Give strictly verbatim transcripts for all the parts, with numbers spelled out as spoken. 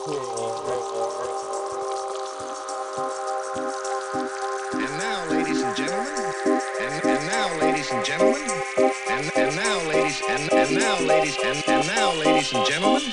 And now, ladies and gentlemen, and, and now, ladies and gentlemen, and, and now, ladies, and, and now, ladies, and, and now, ladies and gentlemen.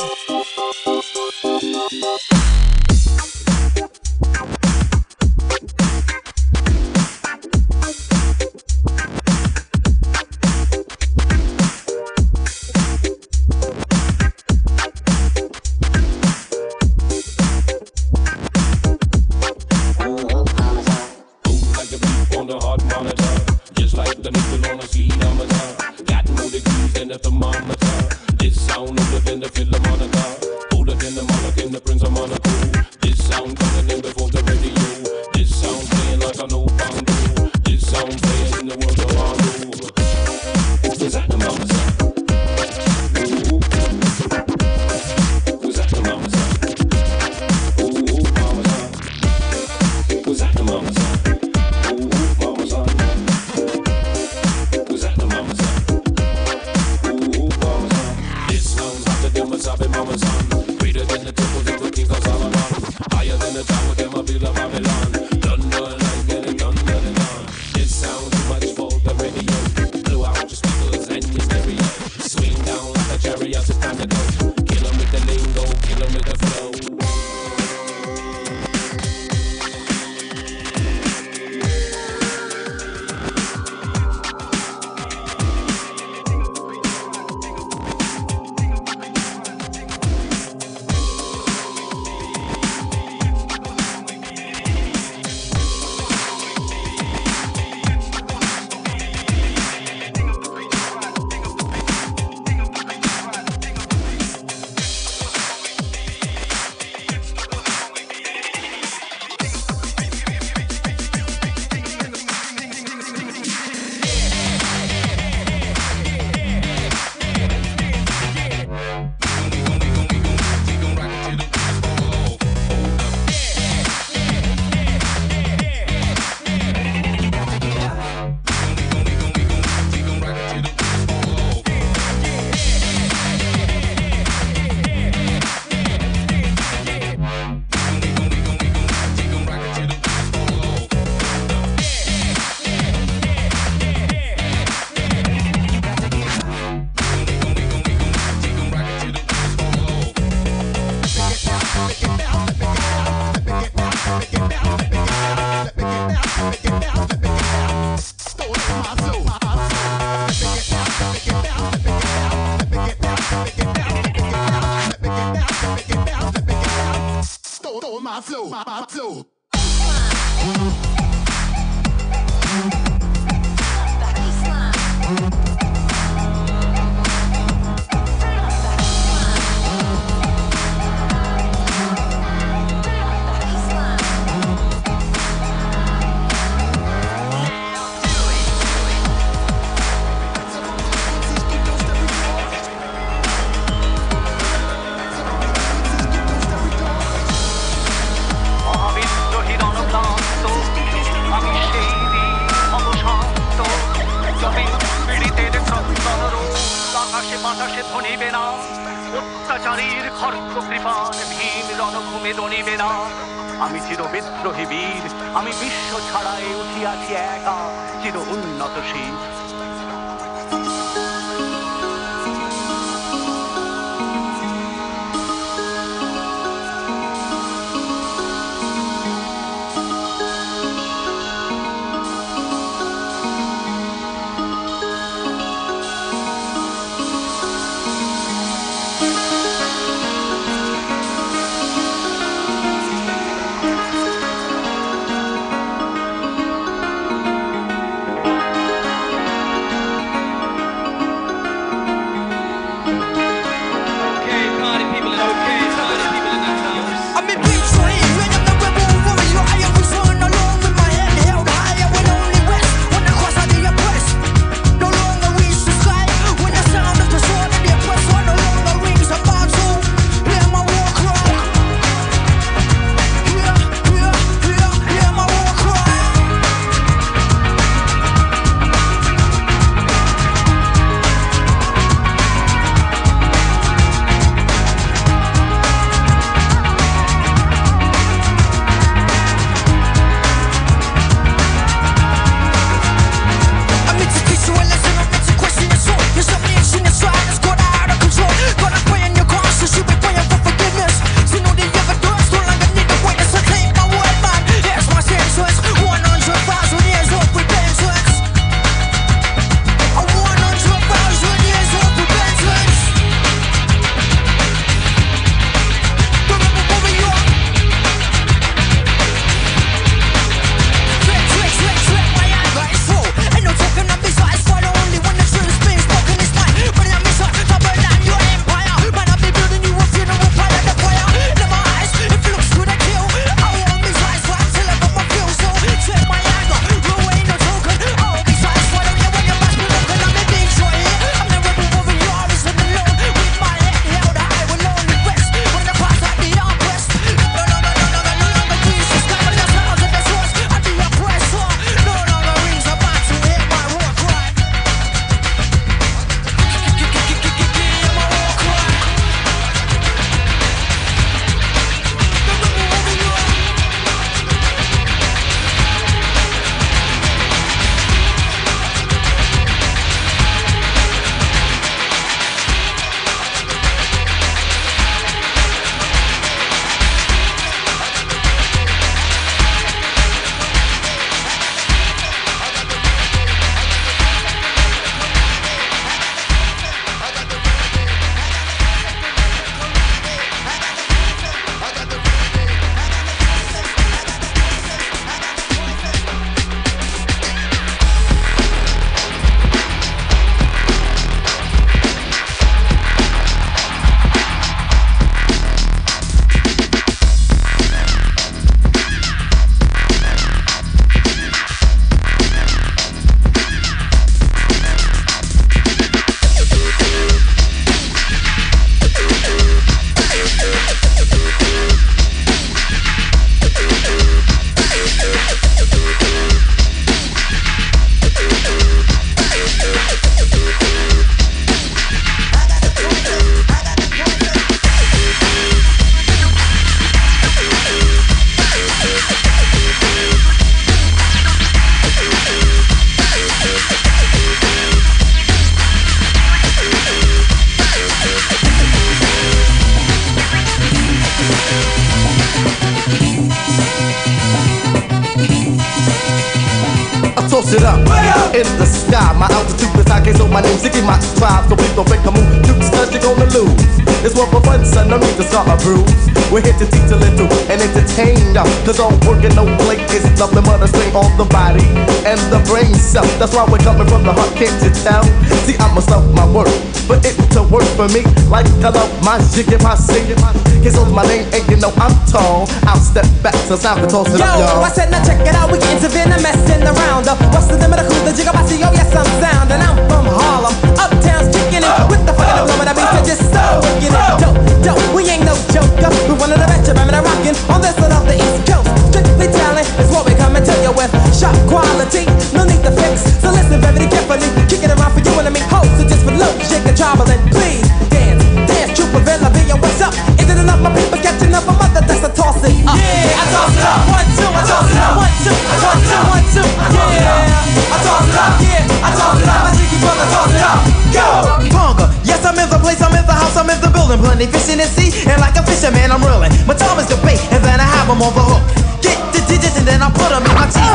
toss it up. In the sky, my altitude is high, so my name's Ziggy, my tribe. So please don't break a move, Dukes, cause you're gonna lose. It's one for fun, son, no need to start a bruise. We're here to teach a little and entertain ya. Cause all work and no play is nothing but a strain on the body and the brain cell. That's why we're coming from the heart, can't you tell? See, I must love my work, but it to work for me like I love my Ziggy, my Ziggy. Cause so my name ain't, you know I'm tall. I'll step back so sound can toss it Yo, up, y'all. I said now check it out, we getting severe and messing around. Uh, what's the limit of cruise, the jigga, I see, oh yes I'm sound. And I'm from Harlem, uptown's kicking it with the fucking blow, and I be just so wicked. Dope, dope, we ain't no joker. We one of the best, man, I'm rockin' on this side of the East Coast. Strictly talent is what we coming to you with. Sharp quality, no need to fix. So listen very carefully, kick it around for you and me. Ho, so just for low, shake and travel and please dance, dance, Trooper Villa, be what's up? Is it enough, my people catching up? I'm mother, that's a toss it up. Yeah, I toss it up. One, two, I toss it up. One, two, one, two, one, two. Yeah, I toss it up. Yeah, I toss it up. My Ziggy brother toss it up. Go, Ponga. Yes, I'm in the place, I'm in the house, I'm in the building. Plenty fish in the sea, and like a fisherman, I'm reeling. My time is the bait, and then I have them on the hook. Get the digits, and then I put them in my teeth.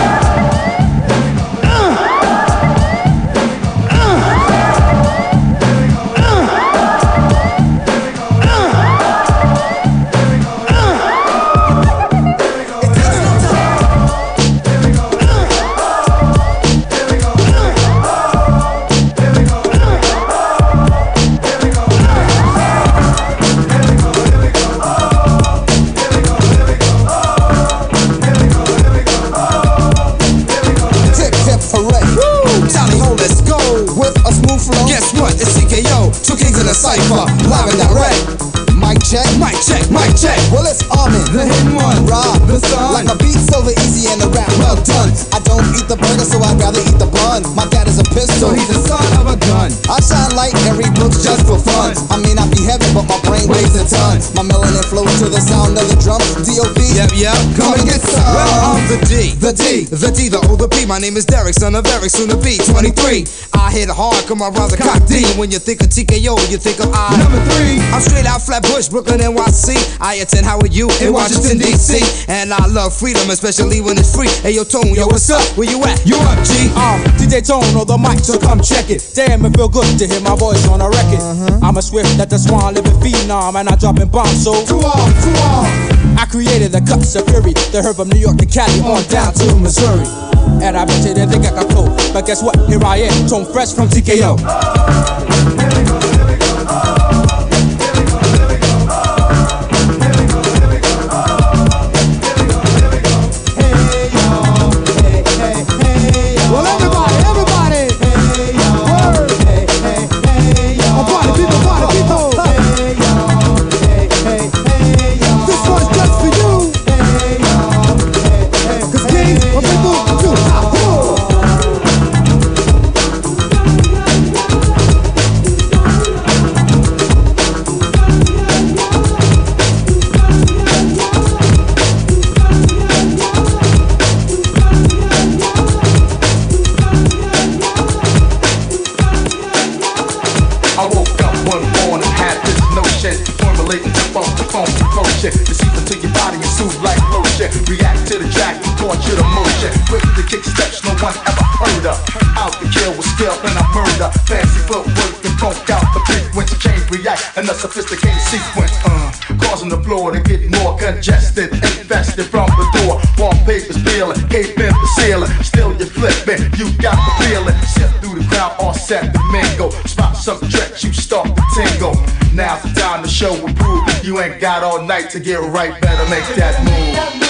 Uh. Uh. Guess what? It's C K O, two kings in a cipher, live and direct. Mic check, mic check, mic check. Well, it's Armin, the hidden one, Rob, the sun. Like my beat, silver easy and the rap well done. I don't eat the burger, so I'd rather eat the bun. My dad is a pistol, so he's the son of a gun. I shine light and read books just for fun. I may not be heavy, but my brain weighs a ton. My melanin flows to the sound of the drums. D O B, yep, yep, come and get some. Well, I'm the D, the D, the D, the O, the P. My name is Derek, son of Eric, soon to be twenty-three. I hit hard, come around the cock D. When you think of T K O, you think of I. Number three, I'm straight out Flatbush, Brooklyn, N Y C. I attend Howard U in Washington, D C. And I love freedom, especially when it's free. Hey, yo, Tone, yo, what's up? Where you at? You up, G? I'm D J Tone on the mic, so come check it. Damn, it feel good to hear my voice on a record. Uh-huh. I'm a swift that the swan living phenom, and I dropping bombs, so too on, too on. I created the cuts of fury, the herb from New York to Cali on down to Missouri. And I bet you didn't think I could cope, but guess what? Here I am, Tone Fresh from T K O. And the sophisticated sequence, uh, causing the floor to get more congested, infested from the door. Wallpaper's peeling, cape in the ceiling. Still you're flipping, you got the feeling. Shift through the crowd, all set to mingle. Spot some tricks, you start to tingle. Now's the time to show and prove. You ain't got all night to get right. Better make that move.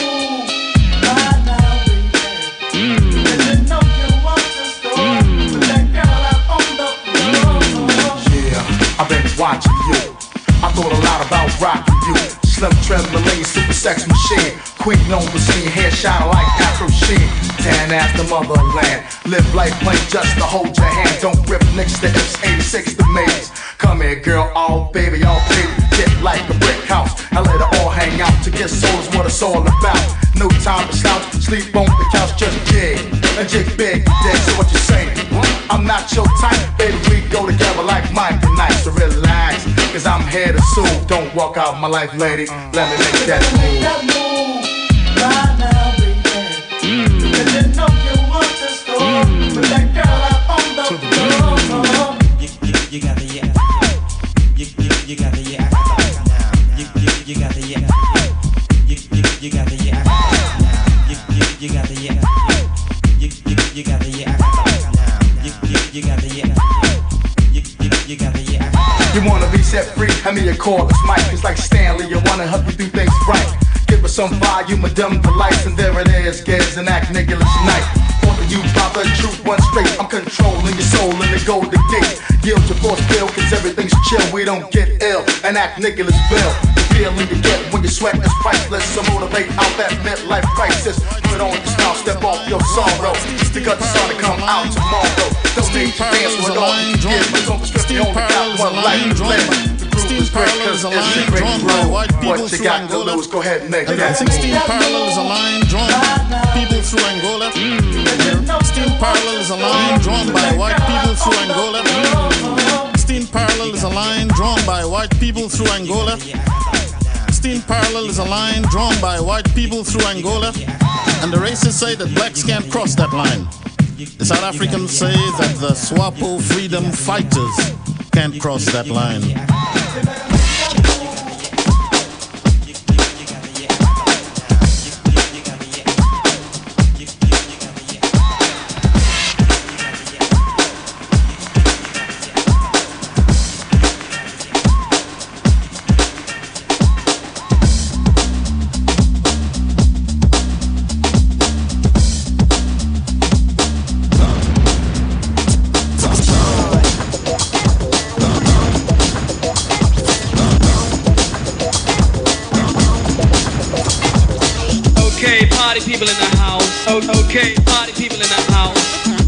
Watching you, I thought a lot about rocking you. Slim trim, Malay, super sex machine. Queen known for seeing hair shine like Afro Sheen. Tan as the motherland. Live life plain just to hold your hand. Don't rip next to X eighty-six the maze. Come here, girl, all baby, all baby. Get like a brick house. I let it all hang out. To get soul is what it's all about. No time to slouch, sleep on the couch, just jig. And jig big, dead, so what you saying? I'm not your type, baby, we go together like Mike and Nice. So relax, cause I'm here to sue. Don't walk out my life, lady, let me make that move. That move right now, baby. Mm. Cause you know you want to start. that girl out on the floor. You, you, you got the yeah. You, you, you got the yeah. You, you, you got the yeah. You, you, you got the yeah. You, you, you got the yeah. You, you, you got the yeah. You, you, you got the yeah. You, you, you got the yeah. You wanna be set free? Hand me a call, it's Mike. It's like Stanley, you wanna help you do things right. Give us some volume, a dumb delights, and there it is, Giz and Act Nicholas Night. Talking you about the truth, one straight. I'm controlling your soul in the golden gate. Yield your force bill, cause everything's chill. We don't get ill, and Act Nicholas Bill. The feeling you get when you sweat is priceless. So motivate out that midlife crisis. Put on your style, step off your sorrow. Just to got the sun to come out tomorrow. Don't need to dance with all you give. But don't strip, you only got one life to live. sixteen Parallel is a line drawn by white people through Angola. Go ahead and make that. sixteen Parallel is a line drawn by people through Angola. sixteen Parallel is a line drawn by white people through Angola. sixteen Parallel is a line drawn by white people through Angola. sixteen Parallel is a line drawn by white people through Angola. And the racists say that blacks can't cross that line. The South Africans say that the SWAPO freedom fighters can't cross that line. Party people in the house. Oh, okay, party people in the house.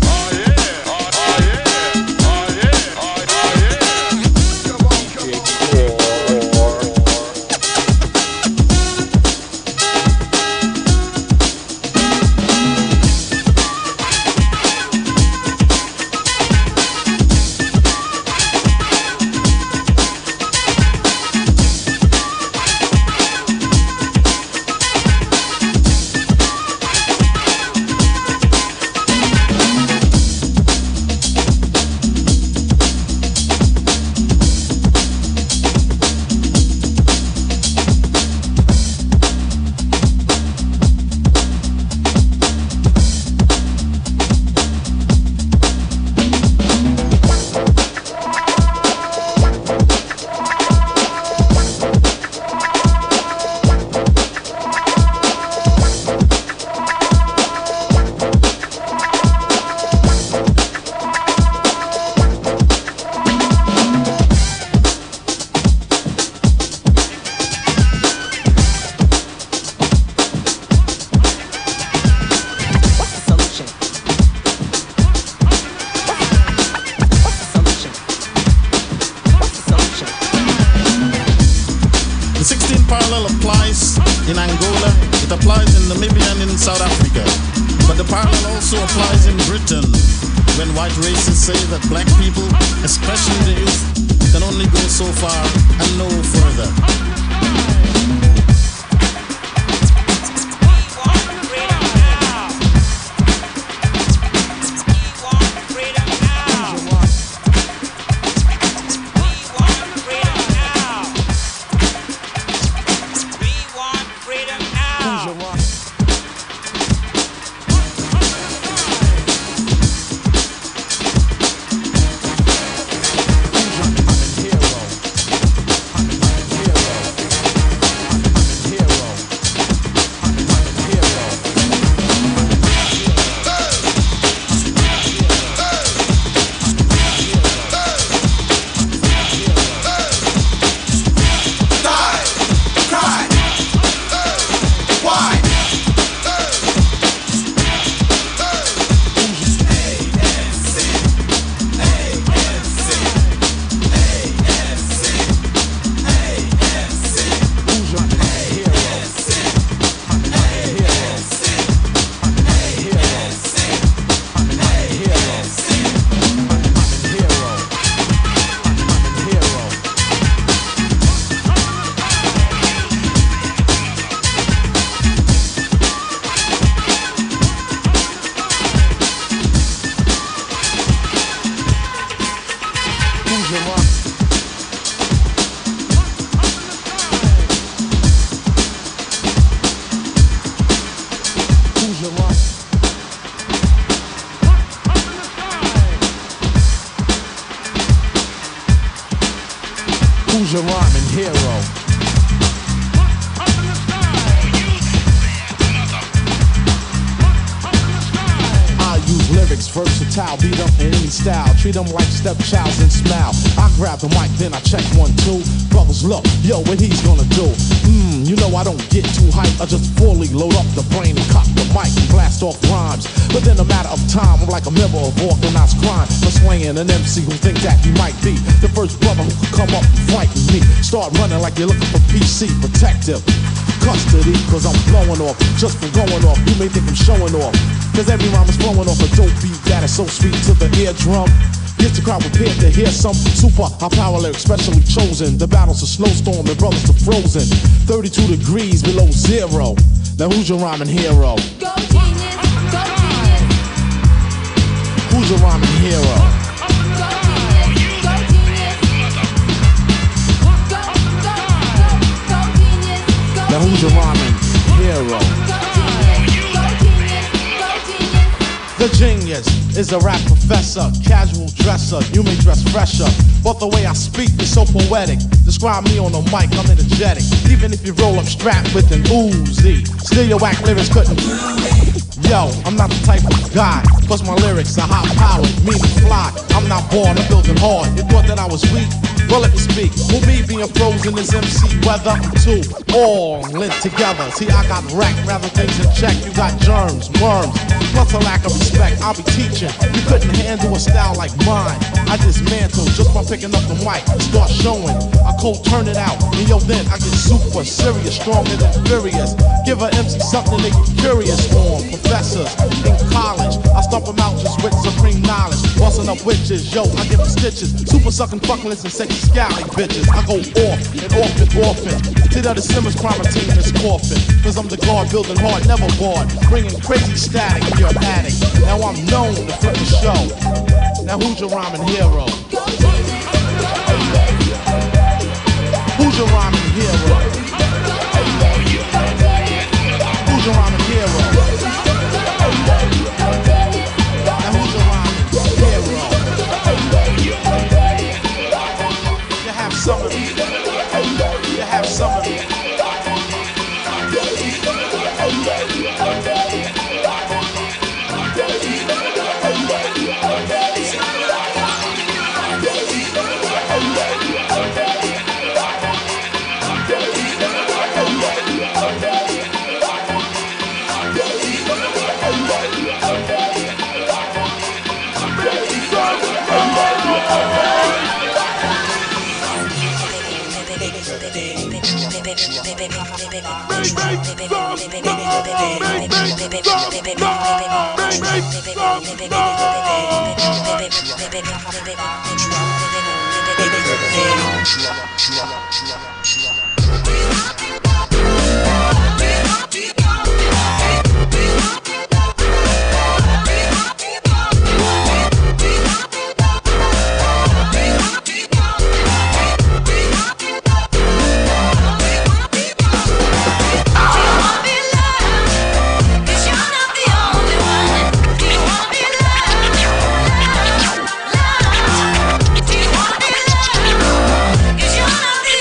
In Angola, it applies in Namibia and in South Africa. But the parallel also applies in Britain, when white racists say that black people, especially the youth, can only go so far and no further. Who's your rock? Who's your rock? Who's your rhyming hero? Lyrics versatile, beat up in any style. Treat them like stepchilds and smile. I grab the mic, then I check one, two. Brothers, look, yo, what he's gonna do? Mmm, you know I don't get too hyped. I just fully load up the brain and cock the mic and blast off rhymes. But in a matter of time, I'm like a member of organized crime. For slaying an M C who think that he might be the first brother who could come up and frighten me. Start running like you're looking for P C protective custody, cause I'm blowing off just for going off. You may think I'm showing off, cause every rhyme is flowing off a dope beat that is so sweet to the eardrum. Gets the crowd prepared to hear some super high power lyrics specially chosen. The battle's a snowstorm and brothers are frozen, thirty-two degrees below zero. Now who's your rhyming hero? Go genius, go genius. Who's your rhyming hero? Go genius, go genius. Go, go, go, go genius. Go Now who's your rhyming hero? The genius is a rap professor, casual dresser, you may dress fresher, but the way I speak is so poetic. Describe me on the mic, I'm energetic. Even if you roll up strapped with an Uzi, still your whack lyrics couldn't. Yo, I'm not the type of guy, plus my lyrics are high powered, meaning fly. I'm not born, I'm building hard. You thought that I was weak? Well, let me speak. With me being frozen is M C weather, I'm two all linked together. See, I got wrecked, rather things in check. You got germs, worms, plus a lack of respect. I'll be teaching. You couldn't handle a style like mine. I dismantle just by picking up the mic. Start showing. I cold turn it out. And yo, then I get super serious, stronger than furious. Give a M C something they get curious on. Professors in college, I stomp them out just with supreme knowledge. Busting up witches, yo, I give them stitches. Super sucking fuckless and sexy scally bitches. I go off and off and orphan. See that the Simmons crime team is coffin. Cause I'm the guard building hard, never bored. Bringing crazy static in your attic. Now I'm known to flip the show. Now who's your rhyming hero? Who's your rhyming hero? Who's your rhyming hero? Now who's your rhyming hero? You have some of me. You have some of me. Cause you're not the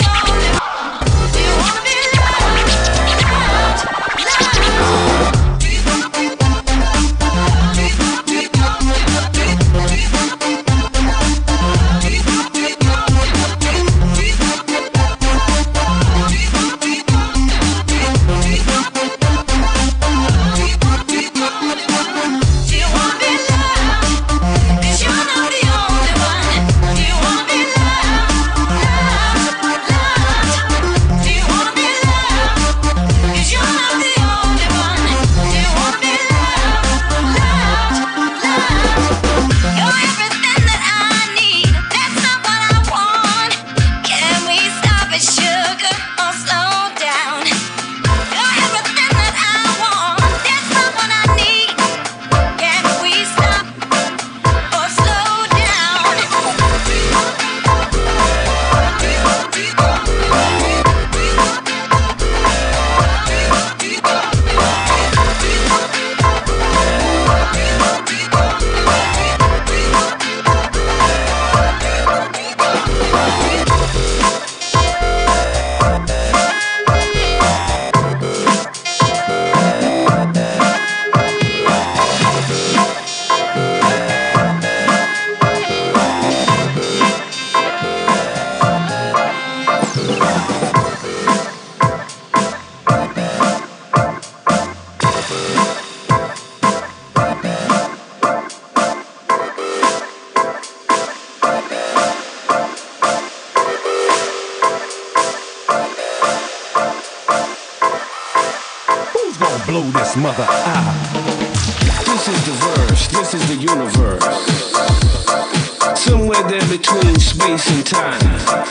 blow this mother out. This is the verse, this is the universe. Somewhere there between space and time.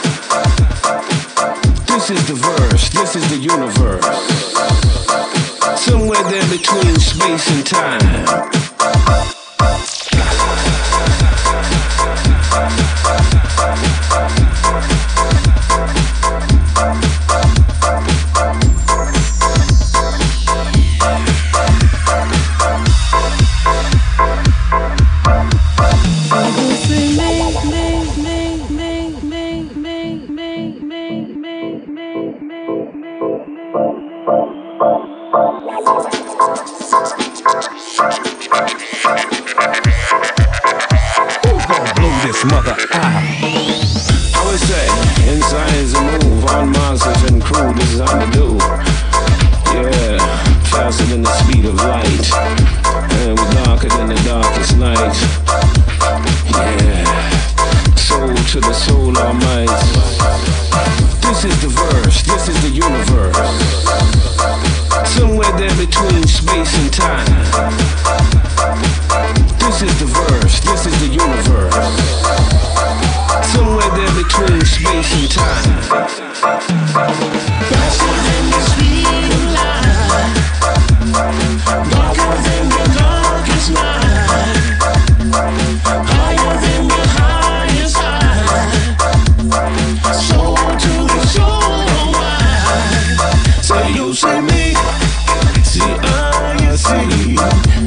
This is the verse, this is the universe. Somewhere there between space and time. Mother, ah. I would say, inside is a move, on monsters and crew, this is how to do. Yeah, faster than the speed of light, and we're darker than the darkest night. Yeah, soul to the soul, all might. This is the verse, this is the universe. Somewhere there between space and time. This is the verse, this is the universe. Somewhere there between space and time. Faster than the speed of light, darker than the darkest night, higher than the highest high, soul to the soul wide. Say you, say me, see I, see.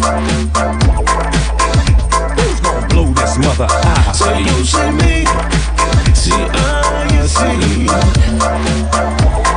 Who's gonna blow this mother out? Say you, say me, see I, see.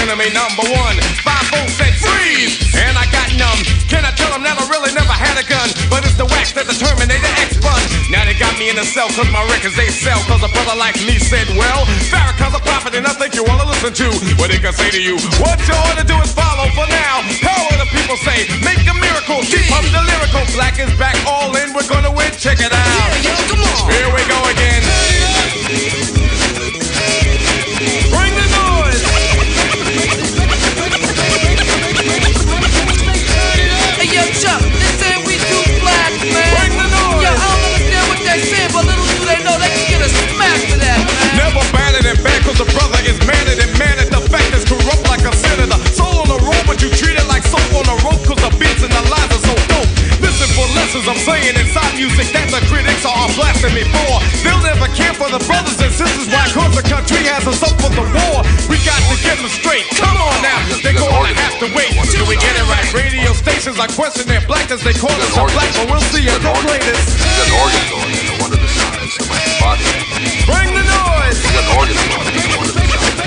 enemy number one. Five volts said freeze, and I got numb. Can I tell them that I really never had a gun? But it's the wax that the Terminator X bun. Now they got me in the cell cause my records they sell. Cause a brother like me said, well, Farrakhan's a prophet and I think you wanna listen to what he can say to you. What you ought to do is follow for now. How will the people say? Make a miracle, keep up the lyrical. Black is back, all in, we're gonna win, check it out. Yeah, yo, come on. Here we go again. Bring the noise. Hey, yo, Chuck, they say we too black, man. Bring the noise. Yo, I don't understand what they say, but little do they know they can get a smack for that, man. Never batted and bad cause the brother is mannered and mannered. The fact is corrupt like a senator. Soul on the road, but you treat it like soap on a rope cause the beats and the lines are so dope. Listen for lessons I'm saying inside music that the critics are blasting me for. They'll never care for the brothers and sisters. Why cause the country has us up for the war. We got to get them straight. Come on now, they're gonna have to wait till we get it right. Radio stations are questioning their blackness. They call us a black, but we'll see if they're greatest. He's got an organ going in one of the sides of my body. Bring the noise. He's got an organ going in one of the sides.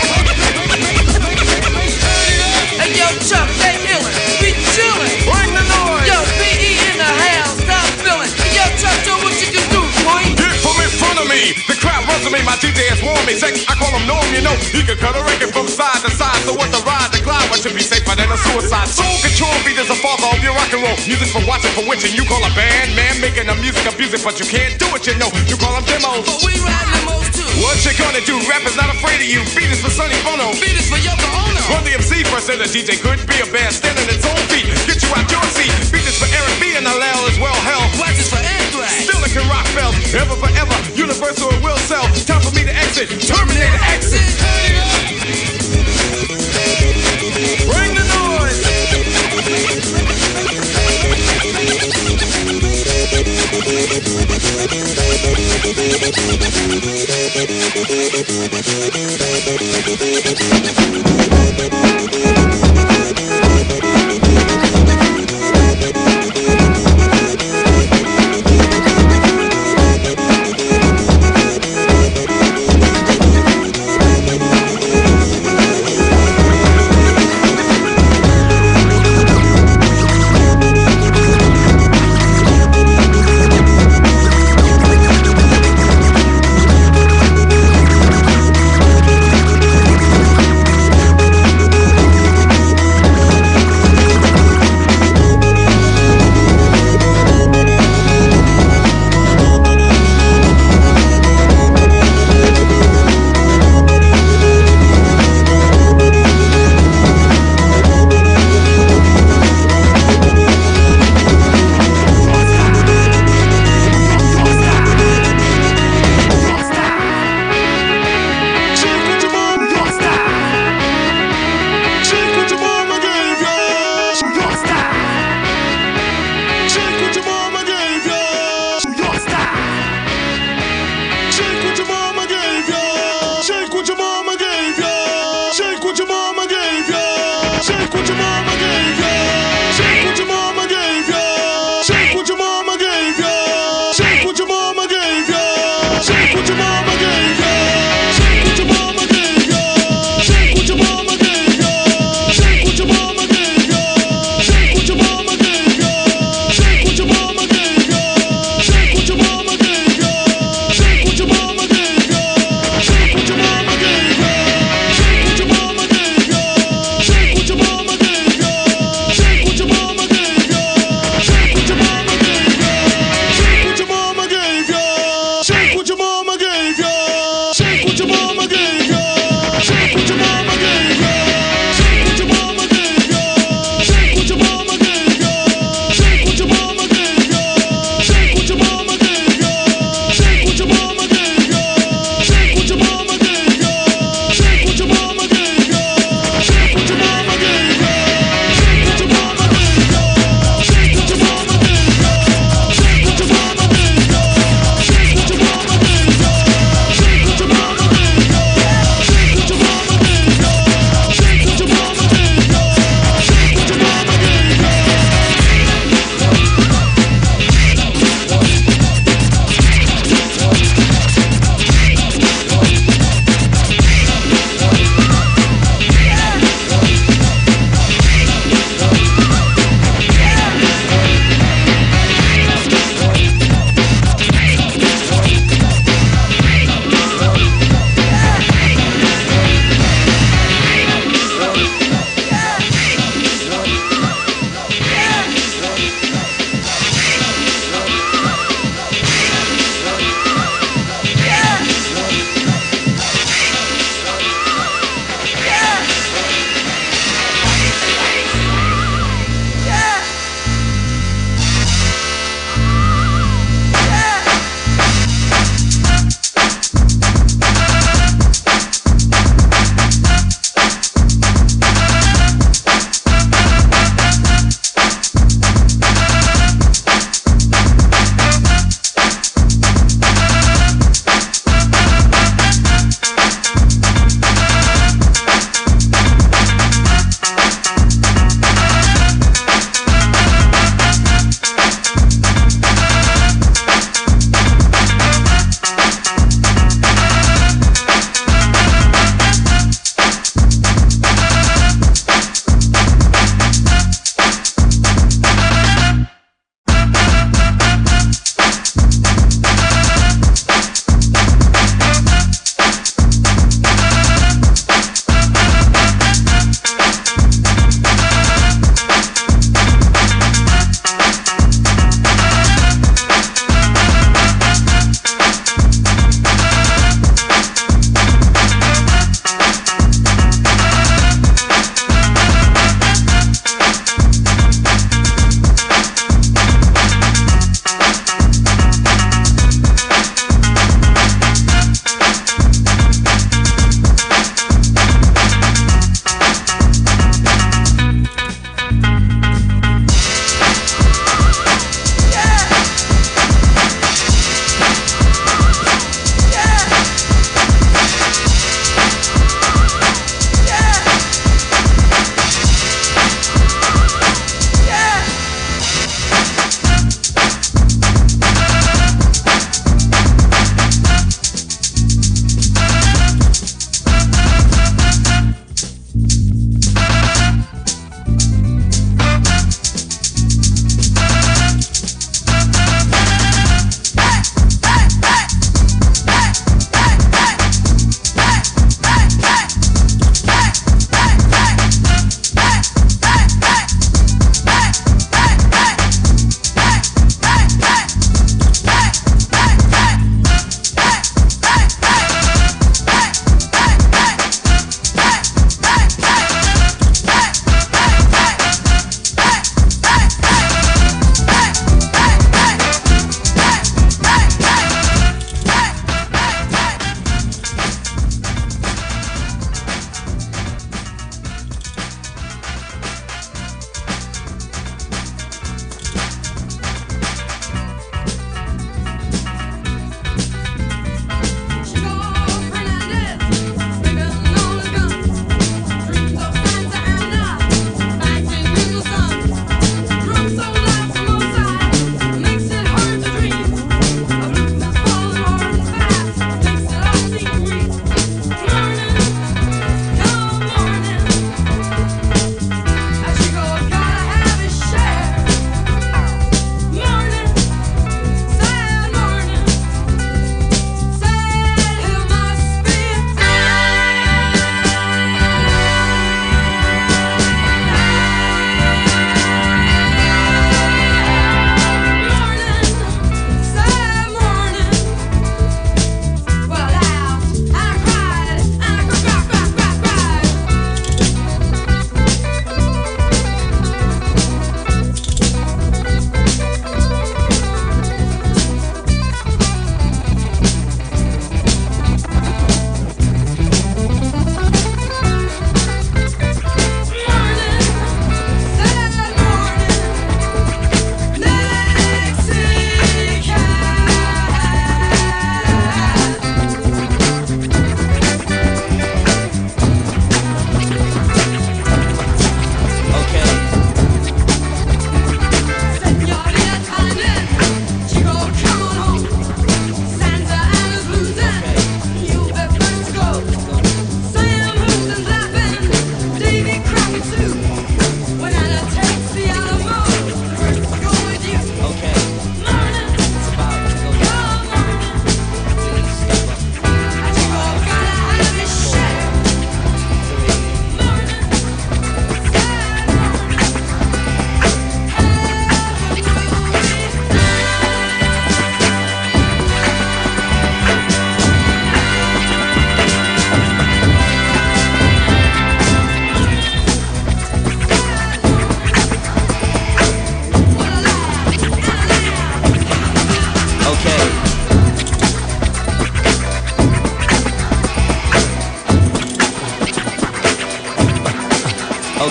Hey, yo, Chuck, they illin'. We chillin'. Bring the noise. Yo, B E in the house, stop feelin'. Hey, yo, Chuck, show what you can do, boy. Get from in front of me. The crowd runs to me. My D J has warned me. Sex, I call him Norm, you know. He can cut a record from side to side. So what the ride, the glide, what should be safer than a suicide. Soul control beat is the father of your rock and roll. Music for watching, for witching. You call a band, man, making the music abusive, but you can't do it, you know. You call them demos. But we ride demos too. What you gonna do? Rap is not afraid of you. Beat is for Sonny Bono. Beat is for Yoko Ono. Run the M C first, and the D J could be a band standing its own feet. Get you out your seat. Beat is for Eric B and the L as well. Hell, Wax is for Anthrax. still it can rock bells. Ever forever, universal it will sell. Time for me to exit. Terminator exit. Bring the noise.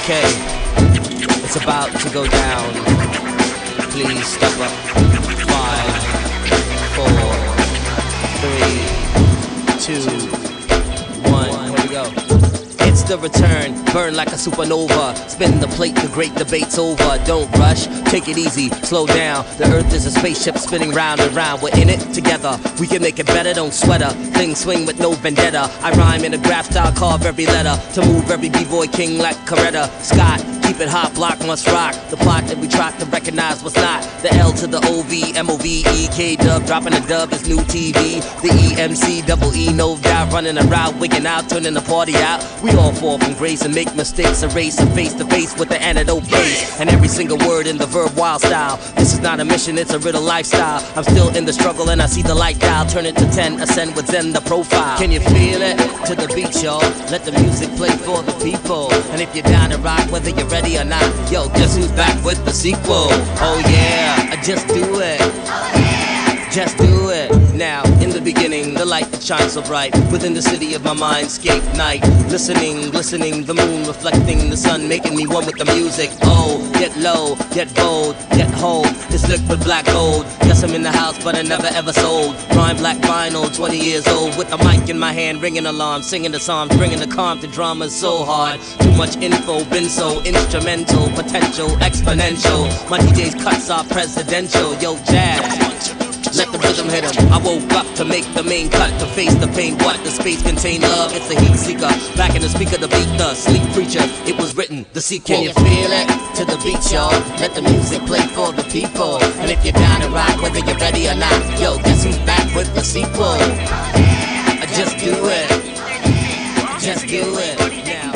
Okay, it's about to go down. Please step up. Five, four, three, two, one. Here we go. It's the return, burn like a supernova. Spin the plate, the great debate's over. Don't rush, take it easy, slow down. The earth is a spaceship spinning round and round. We're in it together, we can make it better, don't sweat her. Things swing with no vendetta. I rhyme in a graph style, carve every letter. To move every b-boy king like Coretta Scott. Keep it hot, block must rock. The plot that we try to recognize was not. The L to the O V, M O V E, K-dub. Dropping a dub is new T V. The E M C, double E, no doubt. Running a route, wigging out, turning the party out. We all fall from grace and make mistakes. Erase and face to face with the antidote base. And every single word in the verb wild style. This is not a mission, it's a riddle lifestyle. I'm still in the struggle and I see the light dial. Turn it to ten, ascend with Zen the profile. Can you feel it? To the beat, y'all. Let the music play for the people. And if you're down to rock, whether you're ready or not, yo, guess who's back with the sequel? Oh yeah, just do it. Just do it. Now, in the beginning, the light that shines so bright within the city of my mindscape night. Listening, glistening, the moon reflecting the sun, making me one with the music. Oh, get low, get bold, get hold. This liquid black gold. Yes, I'm in the house, but I never ever sold. Rhyme black vinyl, twenty years old, with the mic in my hand, ringing alarm, singing the psalms, bringing the calm to dramas so hard. Too much info, been so instrumental, potential, exponential. My D J's cuts are presidential. Yo, jazz. Let the rhythm hit him. I woke up to make the main cut, to face the pain. What the space contain love? It's a heat seeker. Back in the speaker, the beat, the sleep preacher. It was written, the sequel. Can you feel it? To the beat, y'all. Let the music play for the people. And if you're down to rock, whether you're ready or not, yo, guess who's back with the sequel? Just do it. Just do it. Now.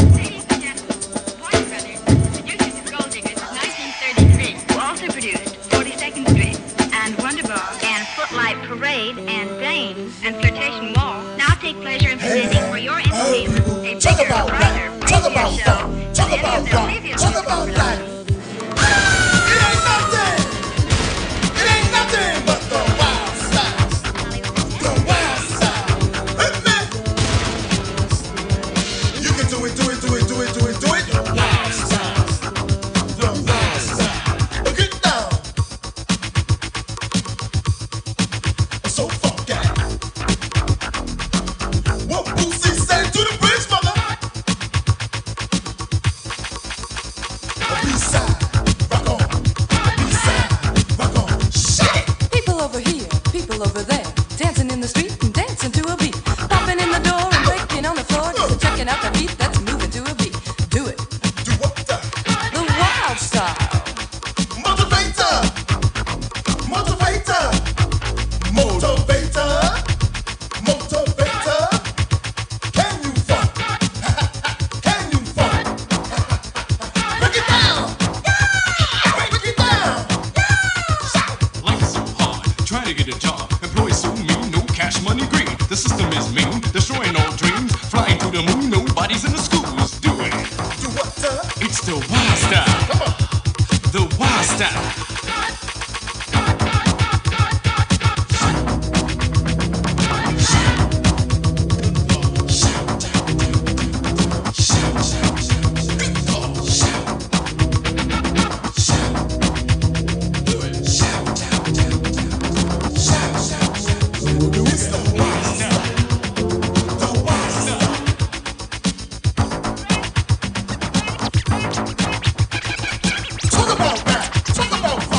nineteen thirty-three. Also produced forty-second Street and Wonderbar and Footlight Parade and Dame and Flirtation Wall. Now take pleasure in presenting for your entertainment a Talk bigger, about brighter, rap. Talk racier about show funk. Talk than any about of the rock. previous Talk about shows. life. It ain't nothing. It ain't nothing but the wild side. The wild side. Hit me. You can do it, do it, do it, do it, do it, do it. The wild side. The wild side. Get down. So funky. What Boosie said to the bridge, mother. People over here, people over there, dancing in the street and dancing to a beat, popping in the door and breaking on the floor, just checking out the beat that's moving to a beat. Do it. Do what? The wild style. Motivator, motivator, motivator, motivator. Can you funk? Can you funk? Break it down. Break it down. Life is so hard, trying to get a job. Employees so mean, no cash money green. The system is mean, destroying all dreams. Flying to the moon, nobody's in the schools. Do it. Do what? It's the wild style. Come on. The wild style. Talk about rap. Talk about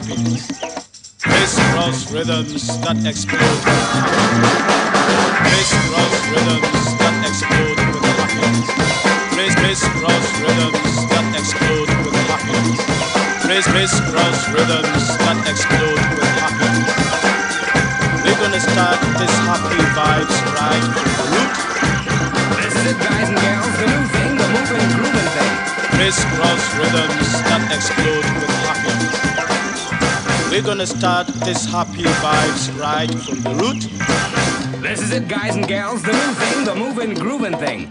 happiness. Crisscross rhythms that explode. Crisscross rhythms that explode with happiness. Criss crisscross rhythms that explode with happiness. Criss crisscross rhythms that explode with happiness. We're gonna start this happy vibes right from the root. This is it, guys and gals, the new thing, the moving, grooving thing. Crisscross rhythms that explode with happiness. We're gonna start this happy vibes right from the root. This is it, guys and gals, the new thing, the moving, grooving thing.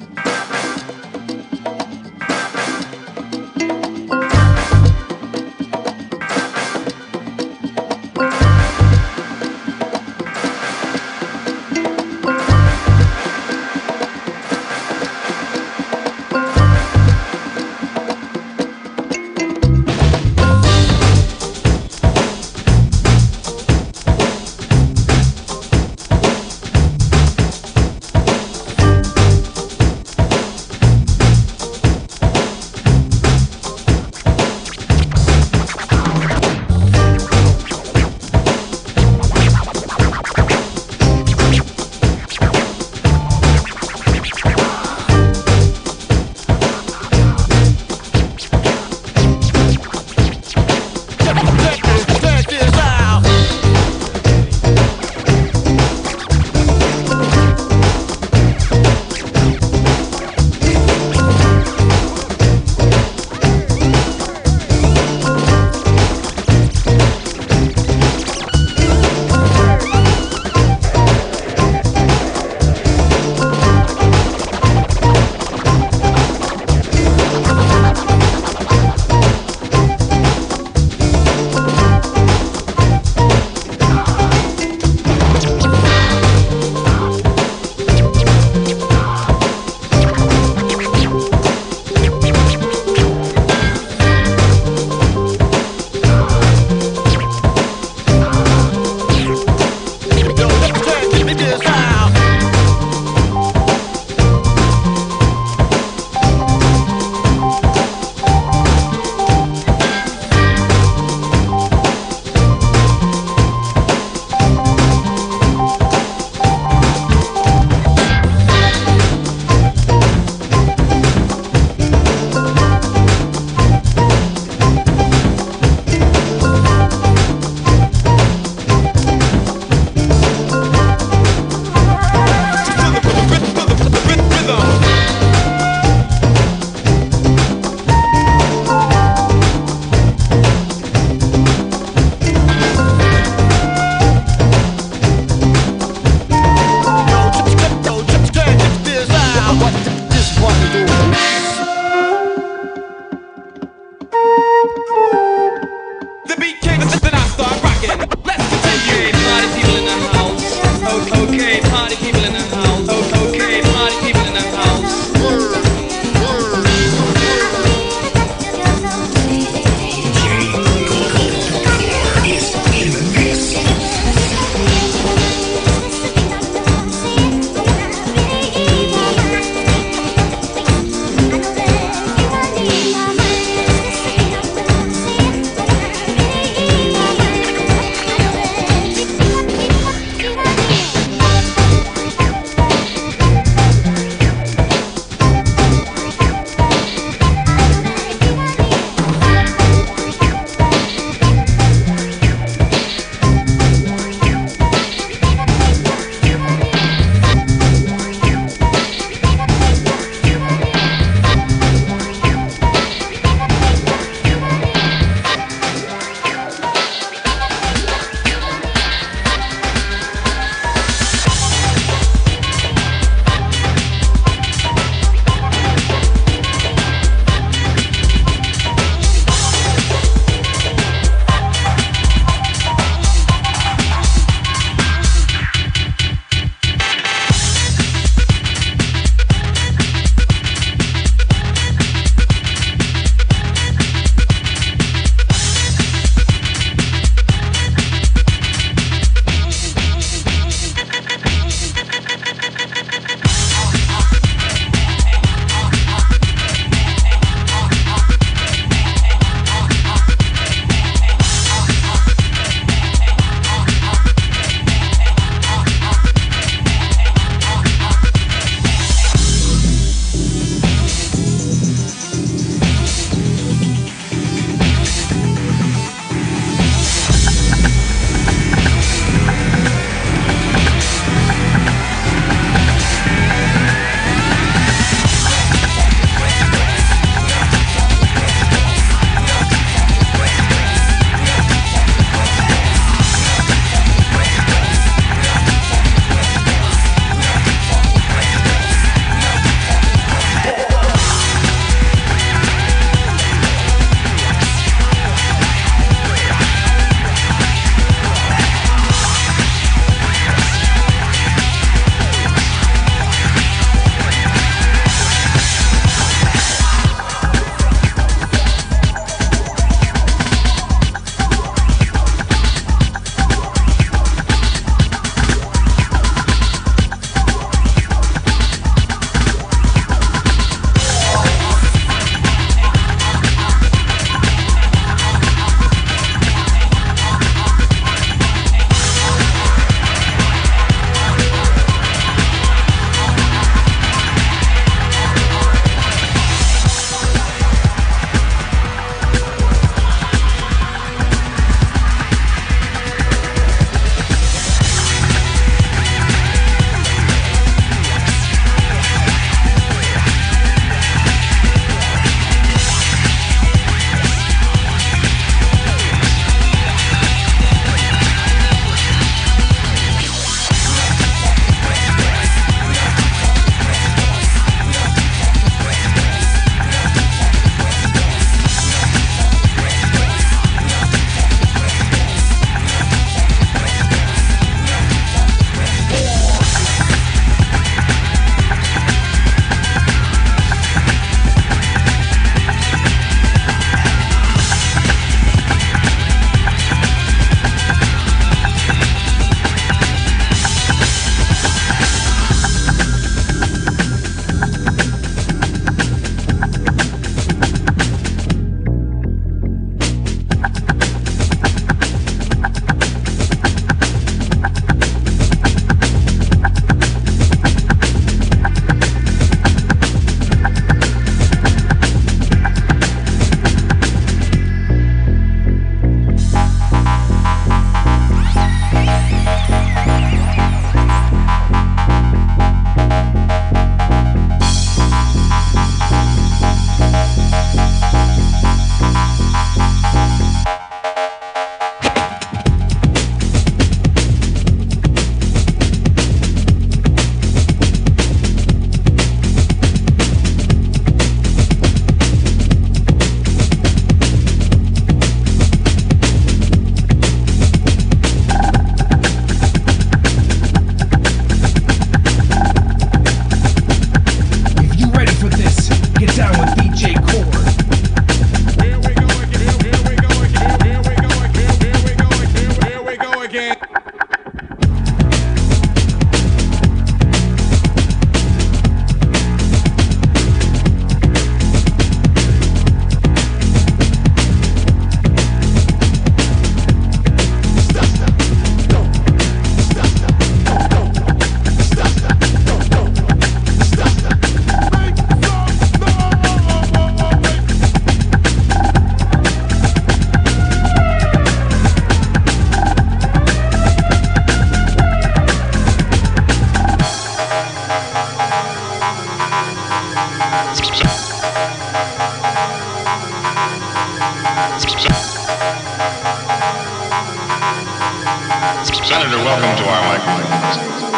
Welcome to our microphones.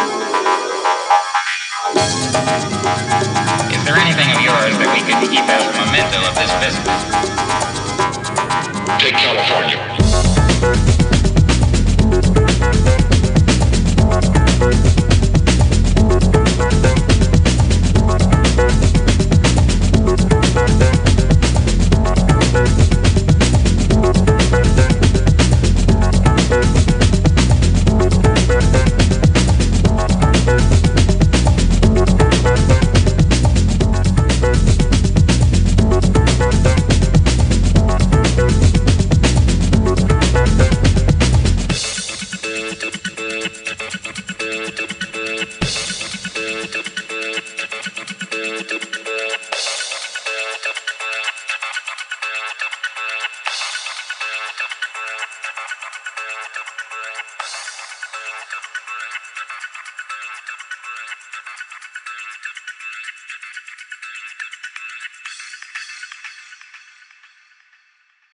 Is there anything of yours that we could keep as a memento of this visit? Take California.